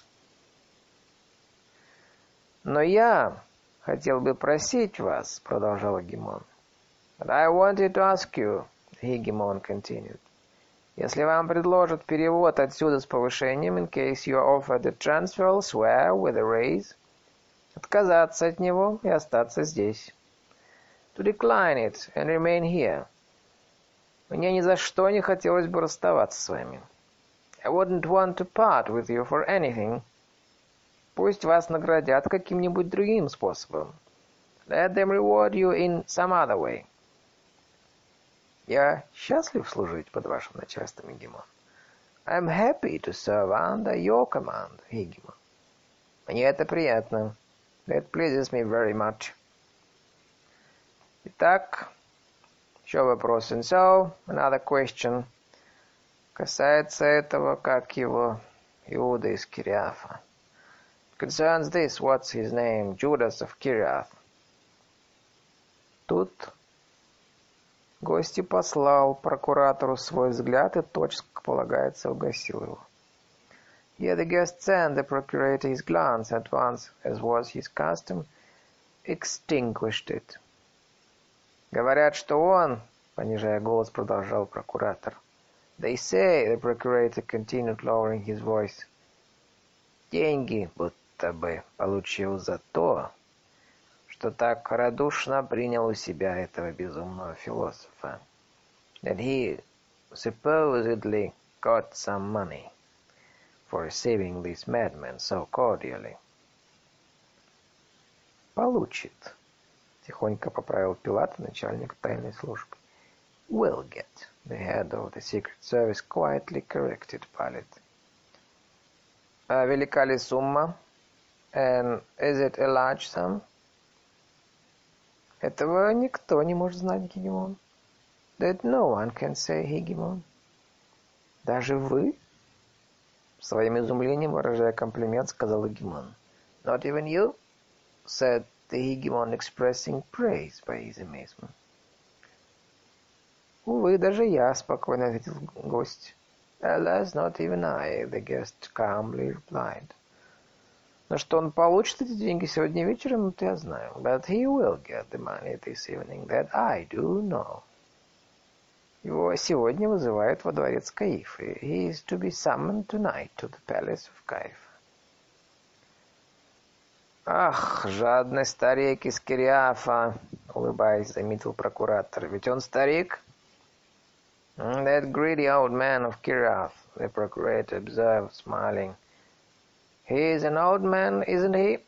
A: Но я хотел бы просить вас, продолжал Гимон. But I wanted to ask you, Гимон continued. Если вам предложат перевод отсюда с повышением, in case you are offered a transfer elsewhere with a raise, отказаться от него и остаться здесь. To decline it and remain here. Мне ни за что не хотелось бы расставаться с вами. I wouldn't want to part with you for anything. Пусть вас наградят каким-нибудь другим способом. Let them reward you in some other way. Я счастлив служить под вашим начальством, Гимон. I'm happy to serve under your command, Гимон. Мне это приятно. That pleases me very much. Итак, еще вопрос. And so, another question. Касается этого, как его, Иуда из Кириафа. Concerns this, what's his name, Judas of Kiriath. Тут гость послал прокуратору свой взгляд и тотчас, как полагается, угасил его. Here the guest sent the procurator his glance at once, as was his custom, extinguished it. Говорят, что он, понижая голос, продолжал прокуратор. They say, the procurator continued, lowering his voice, деньги будто бы получил за то, что так радушно принял у себя этого безумного философа. That he supposedly got some money for receiving this madman so cordially. Получит. Тихонько поправил Пилат, начальник тайной службы. Will get. The head of the Secret Service quietly corrected Pilate. А велика ли сумма? And is it a large sum? Этого никто не может знать, Гегемон. That no one can say, Гегемон. Даже вы? Своим изумлением, выражая комплимент, сказал Гегемон. Not even you? Said the Hegemon, expressing praise by his amazement. «Увы, даже я», — спокойно ответил гость. «Alas, not even I», — the guest calmly replied. Но что он получит эти деньги сегодня вечером, это я знаю. But he will get the money this evening, that I do know. Его сегодня вызывают во дворец Каифы. He is to be summoned tonight to the palace of Каифа. «Ах, жадный старик из Кириафа», — улыбаясь, заметил прокуратор. «Ведь он старик?» «That greedy old man of Kiriath», — the procurator observed, smiling. «He is an old man, isn't he?»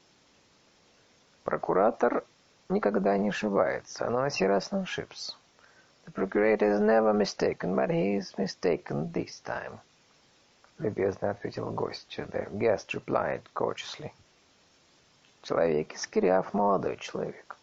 A: Прокуратор никогда не ошибается, но на сей раз он ошибся. The procurator is never mistaken, but he is mistaken this time. Любезно ответил гость. The guest replied cautiously. Человек из Кириаф молодой человек.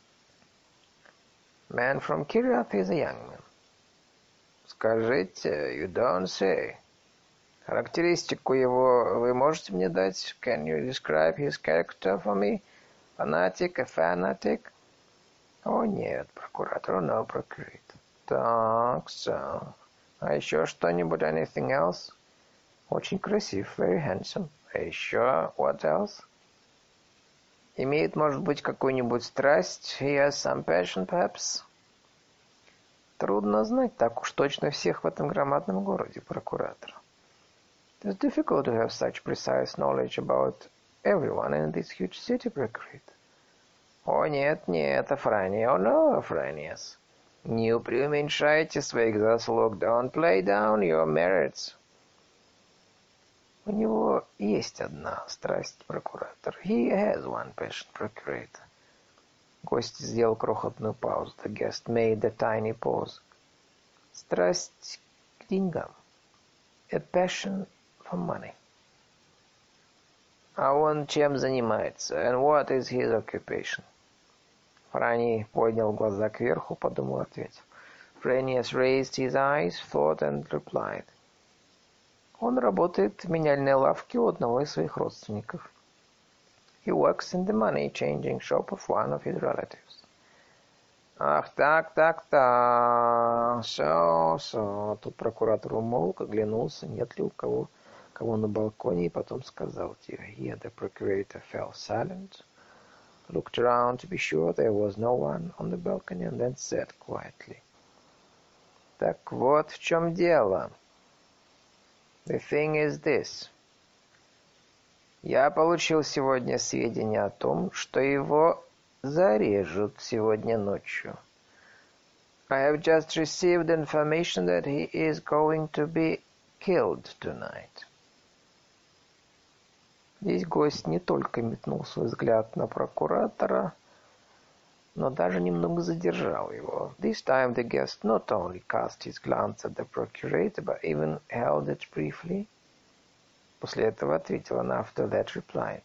A: Man from Kiriath is a young man. Скажите, you don't say. Характеристику его вы можете мне дать? Can you describe his character for me? Fanatic, a fanatic? О, нет, прокуратор, no, procurator. Так, so. А еще что-нибудь, anything else? Очень красив, very handsome. А еще, what else? Имеет, может быть, какую-нибудь страсть? He has some passion, perhaps? Трудно знать так уж точно всех в этом громадном городе, прокуратор. It's difficult to have such precise knowledge about everyone in this huge city, procurator. О, нет, нет, Афрания, oh no, Афраниас. Не преуменьшайте своих заслуг, don't play down your merits. У него есть одна страсть, прокуратор. He has one passion, procurator. Гость сделал крохотную паузу. The guest made a tiny pause. Страсть к деньгам. A passion for money. А он чем занимается? And what is his occupation? Франи поднял глаза кверху, подумал, ответил. Franius raised his eyes, thought and replied. Он работает в меняльной лавке у одного из своих родственников. He works in the money-changing shop of one of his relatives. Ах, так. So. Тут прокуратор умолк, оглянулся, нет ли у кого на балконе, и потом сказал тихо. Here the procurator fell silent, looked around to be sure there was no one on the balcony, and then said quietly. Так вот в чем дело. The thing is this. Я получил сегодня сведения о том, что его зарежут сегодня ночью. I have just received information that he is going to be killed tonight. Здесь гость не только метнул свой взгляд на прокуратора, но даже немного задержал его. This time the guest not only cast his glance at the procurator, but even held it briefly. После этого ответил она, after that replied.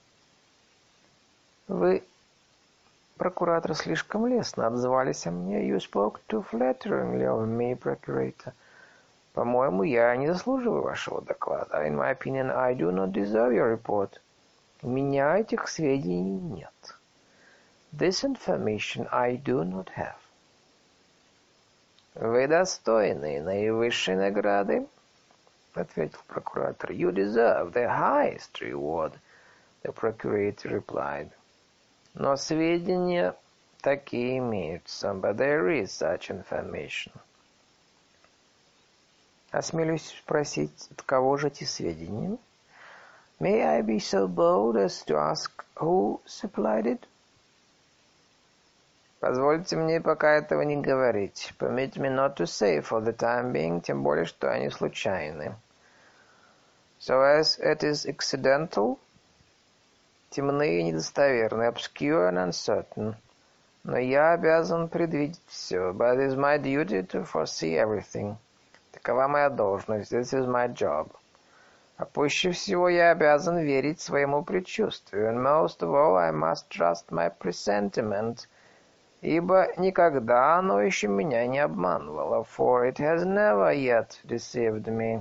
A: Вы, прокуратор, слишком лестно отзывались о мне. You spoke too flatteringly of me, procurator. По-моему, я не заслуживаю вашего доклада. In my opinion, I do not deserve your report. У меня этих сведений нет. This information I do not have. Вы достойны наивысшей награды, ответил прокуратор. You deserve the highest reward, the procurator replied. Но сведения такие имеются, but there is such information. Осмелюсь спросить, от кого же эти сведения? May I be so bold as to ask who supplied it? Позвольте мне пока этого не говорить. Permit me not to say for the time being, тем более, что они случайны. So as it is accidental, темные и недостоверные, obscure and uncertain. Но я обязан предвидеть все. But it is my duty to foresee everything. Такова моя должность. This is my job. А пуще всего я обязан верить своему предчувствию. And most of all, I must trust my presentiment, ибо никогда оно еще меня не обманывало. For it has never yet deceived me.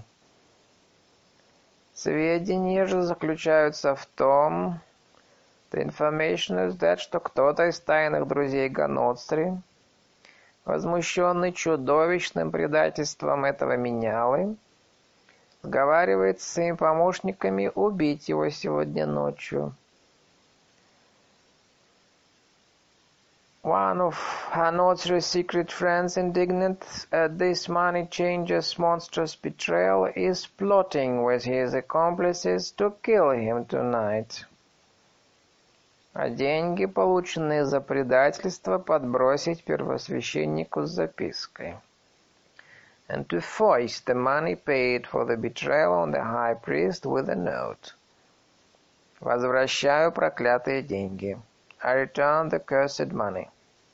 A: Сведения же заключаются в том, the information is that, что кто-то из тайных друзей Ганоцри возмущенный чудовищным предательством этого менялы, сговаривается с своими помощниками убить его сегодня ночью. One of Hanotri's secret friends, indignant at this money changer's monstrous betrayal, is plotting with his accomplices to kill him tonight. А деньги, полученные за предательство, подбросить первосвященнику с запиской. And to foist the money paid for the betrayal on the high priest with a note. Возвращаю проклятые деньги. I return the cursed money.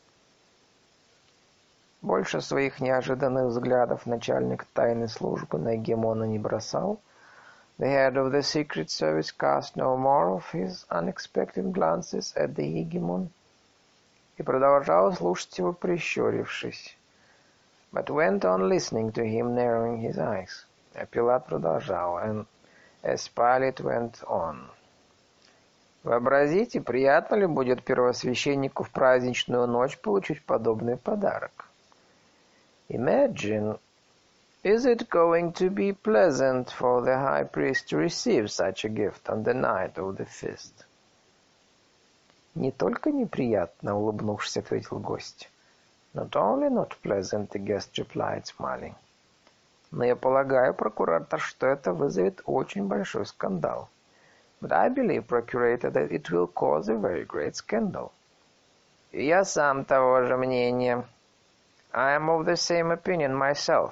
A: Больше своих неожиданных взглядов начальник тайной службы на Гегемона не бросал. The head of the secret service cast no more of his unexpected glances at the Hegemon. И продолжал слушать его, прищурившись. But went on listening to him, narrowing his eyes. А Пилат продолжал, and as Pilate went on. Вообразите, приятно ли будет первосвященнику в праздничную ночь получить подобный подарок? Imagine, is it going to be pleasant for the high priest to receive such a gift on the night of the feast? Не только неприятно, улыбнувшись, ответил гость. Not only not pleasant, the guest replied, smiling. Но я полагаю, прокуратор, что это вызовет очень большой скандал. But I believe, Procurator, that it will cause a very great scandal. И я сам того же мнения. I am of the same opinion myself.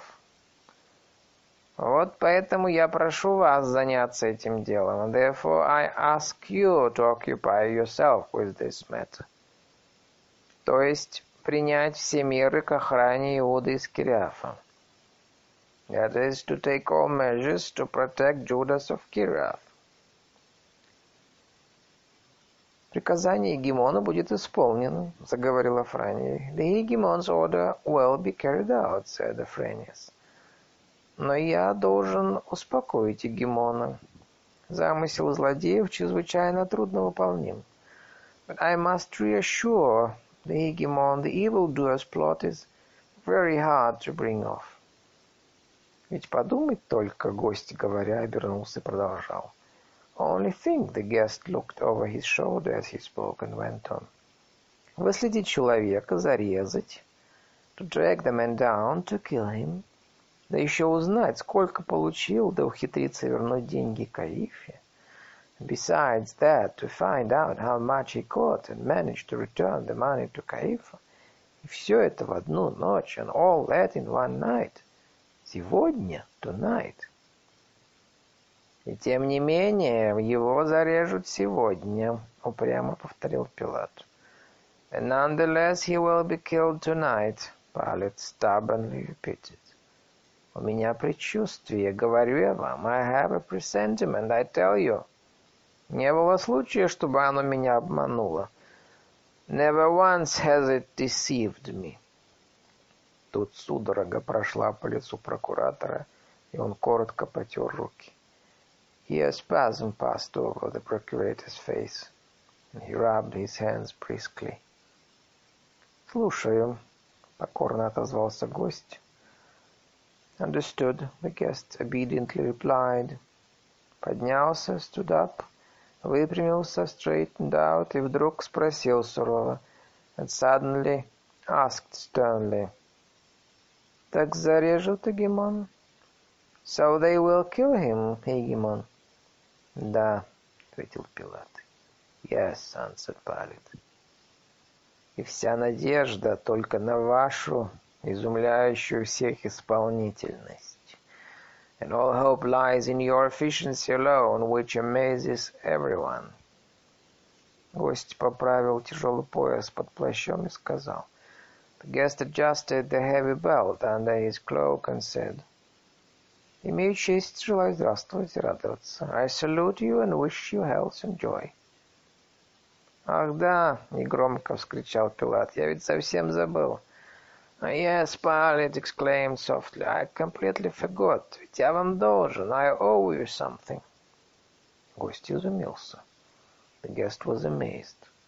A: Вот поэтому я прошу вас заняться этим делом. Therefore I ask you to occupy yourself with this matter. То есть принять все меры к охране Иуды Искариота. That is to take all measures to protect Judas of Kiriath. Приказание Гегемона будет исполнено, заговорила Франия. The Hegemon's order will be carried out, said Afranius. Но я должен успокоить Гегемона. Замысел злодеев чрезвычайно трудновыполним. But I must reassure the Hegemon, the evildoer's plot is very hard to bring off. Ведь подумать только, гость, говоря, обернулся и продолжал. Only think, the guest looked over his shoulder as he spoke and went on. Выследить человека, зарезать, to drag the man down, to kill him, да еще узнать, сколько получил, да ухитриться вернуть деньги Каифе. Besides that, to find out how much he caught and manage to return the money to Каифа. И все это в одну ночь, and all that in one night. Сегодня, tonight. И тем не менее, его зарежут сегодня, упрямо повторил Пилат. And nonetheless he will be killed tonight, Pilate stubbornly repeated. У меня предчувствие, говорю я вам. I have a presentiment, I tell you. Не было случая, чтобы оно меня обмануло. Never once has it deceived me. Тут судорога прошла по лицу прокуратора, и он коротко потер руки. Here a spasm passed over the procurator's face, and he rubbed his hands briskly. «Слушаю», — покорно отозвался гость. Understood, the guest obediently replied. Поднялся, stood up, выпрямился, straightened out, и вдруг спросил сурово, and suddenly asked sternly. «Так зарежут Гегемон?» «So they will kill him, Hegemon?» «Да», — ответил Пилат. «Yes», — answered Pilate. «И вся надежда только на вашу, изумляющую всех исполнительность. And all hope lies in your efficiency alone, which amazes everyone». Гость поправил тяжелый пояс под плащом и сказал. The guest adjusted the heavy belt under his cloak and said, «Имею честь, желаю здравствовать и радоваться. I salute you and wish you health and joy». «Ах да!» — негромко вскричал Пилат. «Я ведь совсем забыл». «Yes, Pilate exclaimed softly. I completely forgot. Ведь я вам должен. I owe you something». Гость изумился. The guest was amazed.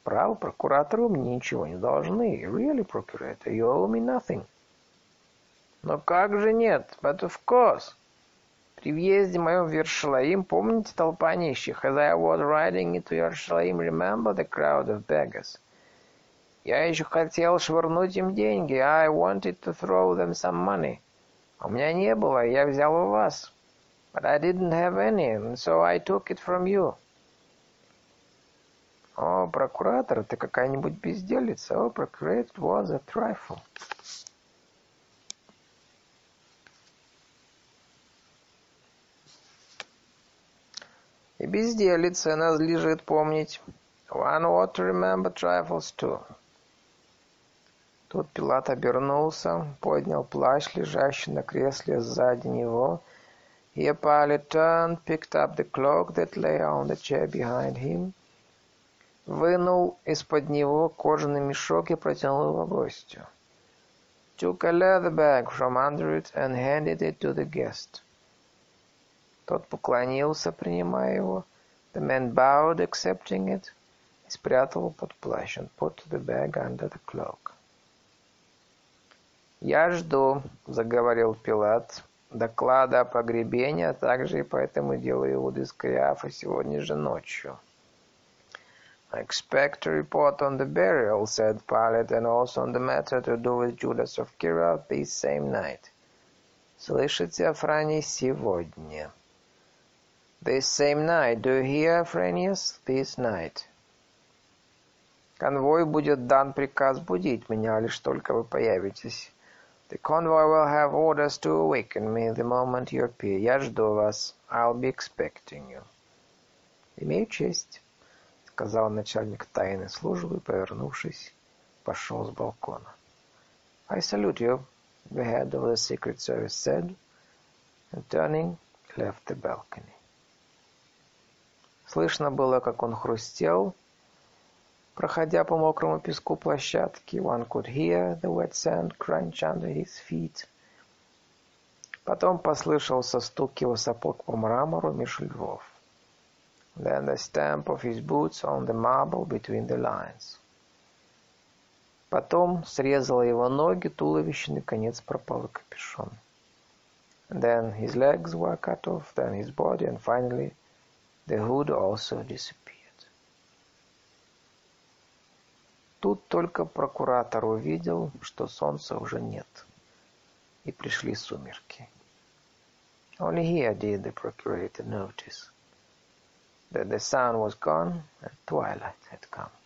A: Право, прокуратору мне ничего не должны. Really, procurator, you owe me nothing. Но как же нет? But of course. При въезде моем в Иерусалим, помните толпа нищих? As I was riding into Jerusalem, remember the crowd of beggars? Я еще хотел швырнуть им деньги. I wanted to throw them some money. У меня не было, я взял у вас. But I didn't have any, and so I took it from you. О, прокуратор, ты какая-нибудь безделица. Oh, procurator, it was a trifle. И безделица надлежит помнить. One ought to remember trifles too. Тут Пилат обернулся, поднял плащ, лежащий на кресле сзади него. Here Pilate turned, picked up the cloak that lay on the chair behind him, вынул из-под него кожаный мешок и протянул его гостю. Took a leather bag from under it and handed it to the guest. Тот поклонился, принимая его. The man bowed, accepting it, и спрятал его под плащ, and put the bag under the cloak. «Я жду», — заговорил Пилат, — «доклада о погребении, а также и по этому делу Иуды Искариафа сегодня же ночью». I expect a report on the burial, said Pilate, and also on the matter to do with Judas of Kira this same night. Слышите, Афраний, сегодня. This same night. Do you hear, Afranius? This night. Конвой будет дан приказ будить меня, лишь только вы появитесь. The convoy will have orders to awaken me the moment you appear. Я жду вас. I'll be expecting you. Имею честь, сказал начальник тайной службы, повернувшись, пошел с балкона. I salute you, the head of the Secret Service said, and turning, left the balcony. Слышно было, как он хрустел, проходя по мокрому песку площадки. One could hear the wet sand crunch under his feet. Потом послышался стук его сапог по мрамору меж львов. Then the stamp of his boots on the marble between the lines. Потом срезало его ноги, туловище, наконец пропал капюшон. Then his legs were cut off, then his body, and finally the hood also disappeared. Тут только прокуратор увидел, что солнца уже нет, и пришли сумерки. Only here did the procurator notice that the sun was gone and twilight had come.